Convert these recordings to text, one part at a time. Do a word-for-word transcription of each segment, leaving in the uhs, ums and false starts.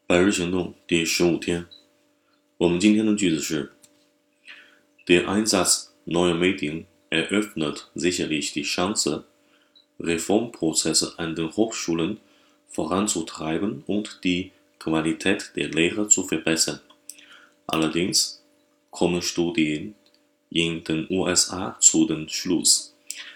百日行动第十五天，我们今天的句子是 Der Einsatz neuer Medien eröffnet sicherlich die Chance, Reformprozesse an den Hochschulen voranzutreiben und die Qualität der Lehre zu verbessern. Allerdings kommen Studien in den U S A zu dem Schluss,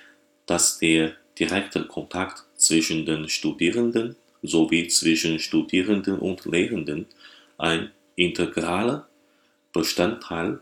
dass der direkte Kontakt zwischen den Studierenden sowie zwischen Studierenden und Lehrenden ein integraler Bestandteil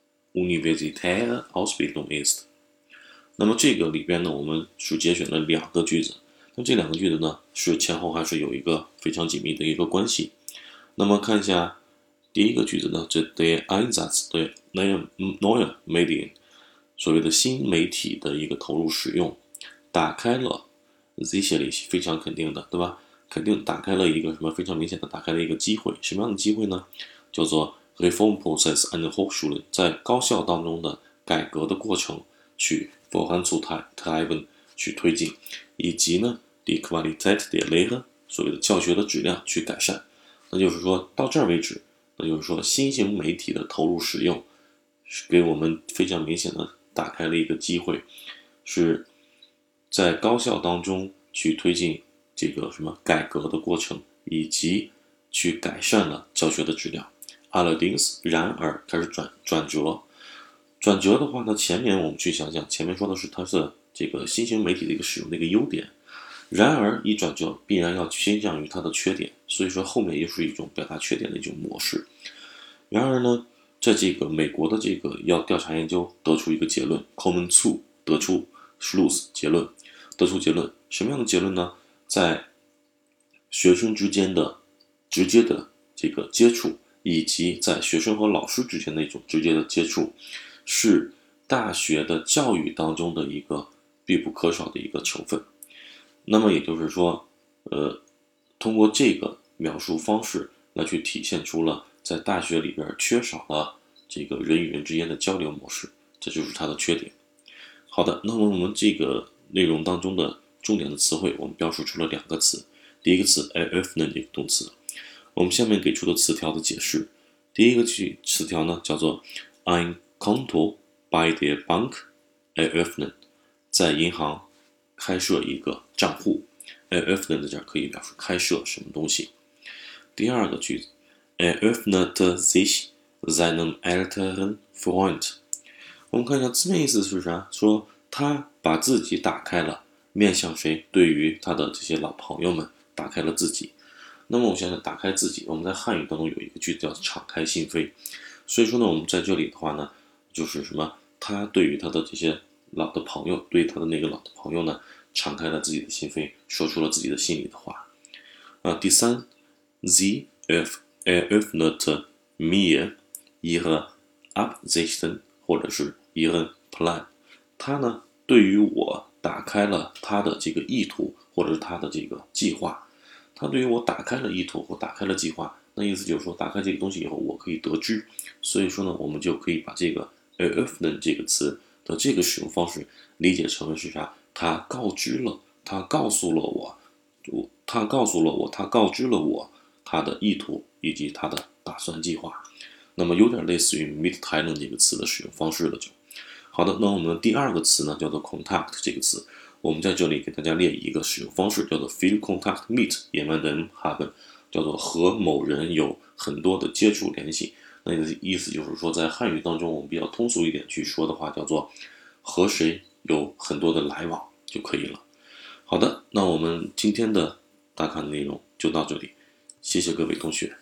universitärer Ausbildung ist。那么这个里边呢，我们是节选了两个句子，那这两个句子呢，是前后还是有一个非常紧密的一个关系。那么看一下第一个句子呢，这 der Einsatz der neuen Medien， 所谓的新媒体的一个投入使用，打开了 sicherlich 非常肯定的，对吧？肯定打开了一个什么非常明显的打开了一个机会，什么样的机会呢？叫做 Reformprozess an den Hochschulen， 在高校当中的改革的过程去 voranzutreiben 去推进，以及呢 die Qualität der Lehre 所谓的教学的质量去改善。那就是说到这儿为止，那就是说新型媒体的投入使用是给我们非常明显的打开了一个机会，是在高校当中去推进这个什么改革的过程，以及去改善了教学的质量。Allerdings 然而开始转转折，转折的话呢，前面我们去想想，前面说的是它是这个新型媒体的一个使用的一个优点，然而一转折必然要倾向于它的缺点，所以说后面又是一种表达缺点的一种模式。然而呢，在这个美国的这个要调查研究得出一个结论 ，kommen zu 得出 Schluss 结论，得出结论，什么样的结论呢？在学生之间的直接的这个接触，以及在学生和老师之间的一种直接的接触，是大学的教育当中的一个必不可少的一个成分。那么也就是说，呃，通过这个描述方式来去体现出了在大学里边缺少了这个人与人之间的交流模式，这就是它的缺点。好的，那么我们这个内容当中的重点的词汇，我们标述出了两个词。第一个词 eröffnen 这个动词，我们下面给出的词条的解释。第一个句词条呢叫做 ein Konto bei der Bank eröffnen， 在银行开设一个账户。eröffnen 在这儿可以表示开设什么东西。第二个句子 eröffnete sich seinem älteren Freund， 我们看一下字面意思是啥，说他把自己打开了，面向谁？对于他的这些老朋友们打开了自己。那么我想想打开自己，我们在汉语当中有一个句子叫敞开心扉，所以说呢，我们在这里的话呢，就是什么？他对于他的这些老的朋友，对他的那个老的朋友呢，敞开了自己的心扉，说出了自己的心里的话。啊，第三 ，Sie eröffnete mir ihre Absichten 或者是 ihren Plan， 他呢对于我打开了他的这个意图，或者是他的这个计划。他对于我打开了意图或打开了计划，那意思就是说，打开这个东西以后，我可以得知。所以说呢，我们就可以把这个 eröffnen 这个词的这个使用方式理解成为是啥？他告知了，他告诉了我，他告诉了我，他告知了我他的意图以及他的打算计划。那么有点类似于 mitteilen 这个词的使用方式了就。好的，那我们的第二个词呢，叫做 contact 这个词。我们在这里给大家列一个使用方式，叫做 viel Kontakt mit jemandem haben， 叫做和某人有很多的接触联系。那个意思就是说，在汉语当中，我们比较通俗一点去说的话，叫做和谁有很多的来往就可以了。好的，那我们今天的大咖的内容就到这里，谢谢各位同学。